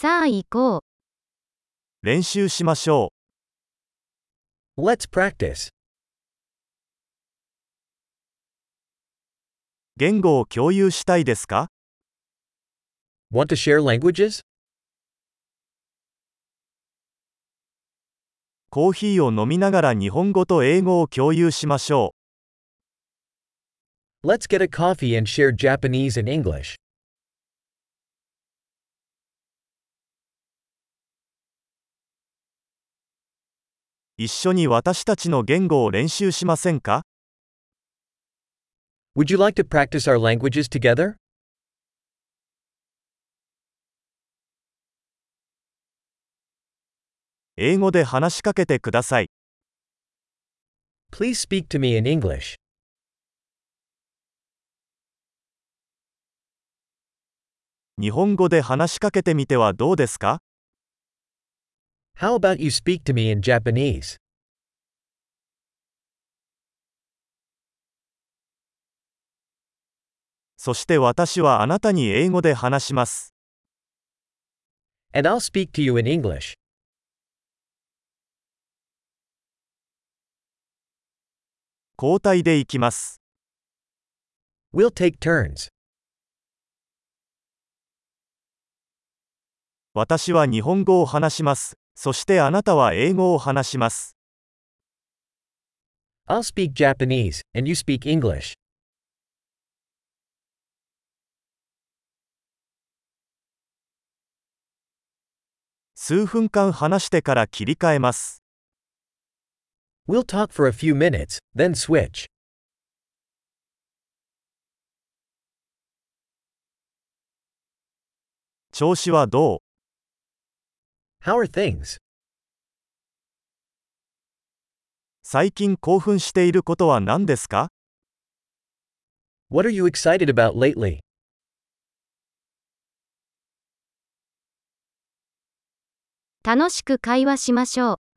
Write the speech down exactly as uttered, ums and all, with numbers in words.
さあ行こう。 練習しましょ Let's practice. う。言語を共有したいですか？ Want to share languages? コーヒーを飲みながら日本語と英語を共有しましょ Let's get a coffee and share Japanese and English. う。一緒に私たちの言語を練習しませんか？ Would you like to practice our languages together? 英語で話しかけてください。 Please speak to me in English. 日本語で話しかけてみてはどうですか？ How about you speak to me in Japanese? そして私はあなたに英語で話します。 And I'll speak to you in English. 交代でいきます。 We'll take turns. 私は日本語を話します。そしてあなたは英語を話します。 I'll speak Japanese, and you speak English. 数分間話してから切り替えます。 We'll talk for a few minutes, then switch. 調子はどう？ How are things? 最近興奮していることは何ですか？ What are you excited about lately? 楽しく会話しましょう。